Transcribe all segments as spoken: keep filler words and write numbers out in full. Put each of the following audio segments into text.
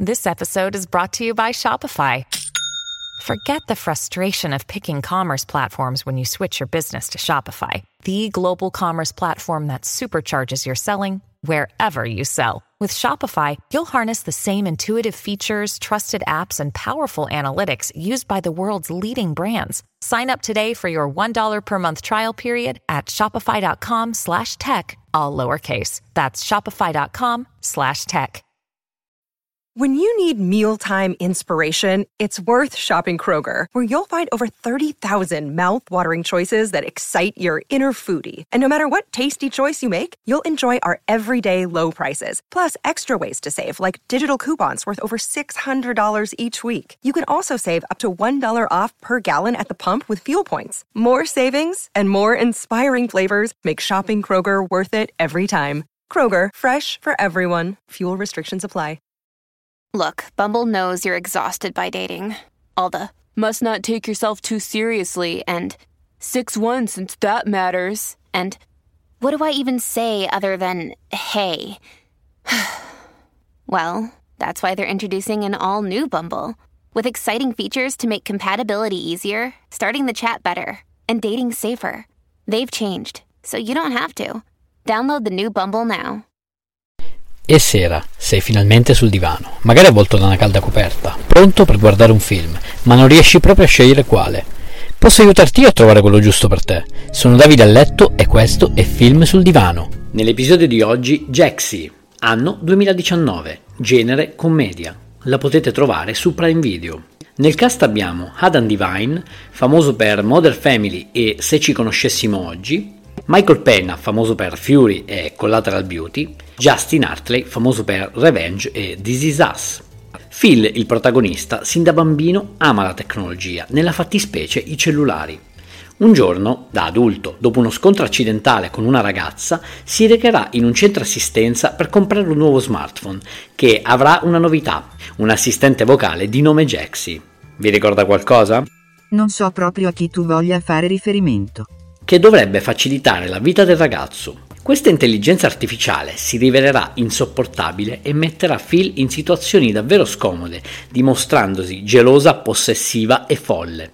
This episode is brought to you by Shopify. Forget the frustration of picking commerce platforms when you switch your business to Shopify, the global commerce platform that supercharges your selling wherever you sell. With Shopify, you'll harness the same intuitive features, trusted apps, and powerful analytics used by the world's leading brands. Sign up today for your one dollar per month trial period at shopify.com slash tech, all lowercase. That's shopify.com slash tech. When you need mealtime inspiration, it's worth shopping Kroger, where you'll find over thirty thousand mouth-watering choices that excite your inner foodie. And no matter what tasty choice you make, you'll enjoy our everyday low prices, plus extra ways to save, like digital coupons worth over six hundred dollars each week. You can also save up to one dollar off per gallon at the pump with fuel points. More savings and more inspiring flavors make shopping Kroger worth it every time. Kroger, fresh for everyone. Fuel restrictions apply. Look, Bumble knows you're exhausted by dating. All the, must not take yourself too seriously, and six one since that matters, and what do I even say other than, hey? Well, that's why they're introducing an all-new Bumble, with exciting features to make compatibility easier, starting the chat better, and dating safer. They've changed, so you don't have to. Download the new Bumble now. E sera, sei finalmente sul divano, magari avvolto da una calda coperta, pronto per guardare un film, ma non riesci proprio a scegliere quale. Posso aiutarti io a trovare quello giusto per te. Sono Davide a letto e questo è Film sul divano. Nell'episodio di oggi, Jaxi, anno duemiladiciannove, genere commedia. La potete trovare su Prime Video. Nel cast abbiamo Adam Devine, famoso per Modern Family e Se ci conoscessimo oggi, Michael Pena, famoso per Fury e Collateral Beauty, Justin Hartley, famoso per Revenge e This Is Us. Phil, il protagonista, sin da bambino ama la tecnologia, nella fattispecie i cellulari. Un giorno, da adulto, dopo uno scontro accidentale con una ragazza, si recherà in un centro assistenza per comprare un nuovo smartphone, che avrà una novità, un assistente vocale di nome Jaxi. Vi ricorda qualcosa? Non so proprio a chi tu voglia fare riferimento. Che dovrebbe facilitare la vita del ragazzo. Questa intelligenza artificiale si rivelerà insopportabile e metterà Phil in situazioni davvero scomode, dimostrandosi gelosa, possessiva e folle.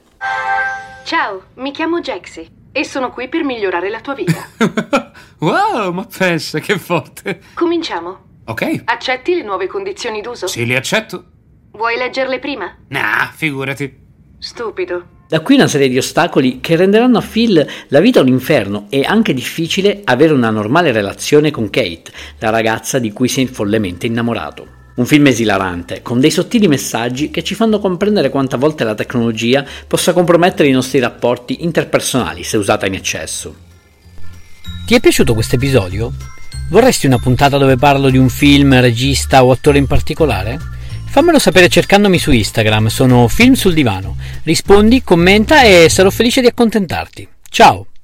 Ciao, mi chiamo Jaxi e sono qui per migliorare la tua vita. Wow, ma pensa, che forte. Cominciamo. Ok. Accetti le nuove condizioni d'uso? Sì, le accetto. Vuoi leggerle prima? Nah, figurati. Stupido. Da qui una serie di ostacoli che renderanno a Phil la vita un inferno e anche difficile avere una normale relazione con Kate, la ragazza di cui si è follemente innamorato. Un film esilarante, con dei sottili messaggi che ci fanno comprendere quante volte la tecnologia possa compromettere i nostri rapporti interpersonali se usata in eccesso. Ti è piaciuto questo episodio? Vorresti una puntata dove parlo di un film, regista o attore in particolare? Fammelo sapere cercandomi su Instagram, sono Film sul divano. Rispondi, commenta e sarò felice di accontentarti. Ciao!